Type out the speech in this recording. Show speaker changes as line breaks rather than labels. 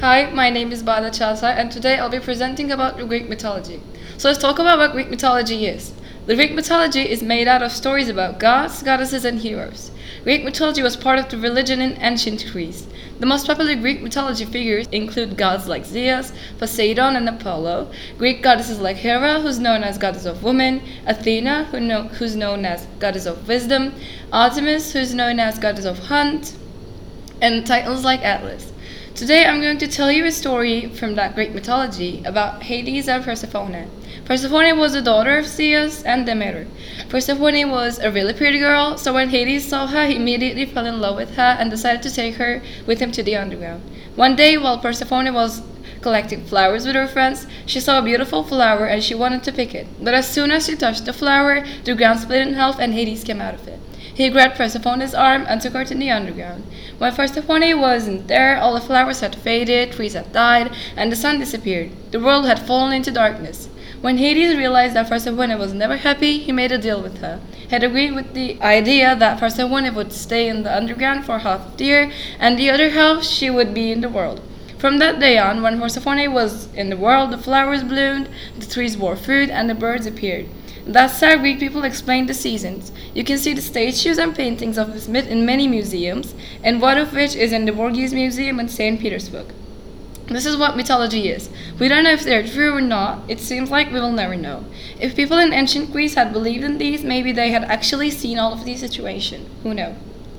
Hi, my name is Bada Chasa, and today I'll be presenting about the Greek mythology. So let's talk about what Greek mythology is. The Greek mythology is made out of stories about gods, goddesses, and heroes. Greek mythology was part of the religion in ancient Greece. The most popular Greek mythology figures include gods like Zeus, Poseidon, and Apollo, Greek goddesses like Hera, who's known as goddess of women, Athena, who's known as goddess of wisdom, Artemis, who's known as goddess of hunt, and titans like Atlas. Today I'm going to tell you a story from that Greek mythology about Hades and Persephone. Persephone was the daughter of Zeus and Demeter. Persephone was a really pretty girl, so when Hades saw her, he immediately fell in love with her and decided to take her with him to the underground. One day, while Persephone was collecting flowers with her friends, she saw a beautiful flower and she wanted to pick it. But as soon as she touched the flower, the ground split in half and Hades came out of it. He grabbed Persephone's arm and took her to the underground. When Persephone wasn't there, all the flowers had faded, trees had died, and the sun disappeared. The world had fallen into darkness. When Hades realized that Persephone was never happy, he made a deal with her. He had agreed with the idea that Persephone would stay in the underground for half of the year, and the other half she would be in the world. From that day on, when Persephone was in the world, the flowers bloomed, the trees bore fruit, and the birds appeared. That's how Greek people explained the seasons. You can see the statues and paintings of this myth in many museums, and one of which is in the Borghese Museum in St. Petersburg. This is what mythology is. We don't know if they're true or not. It seems like we will never know. If people in ancient Greece had believed in these, maybe they had actually seen all of these situations. Who knows?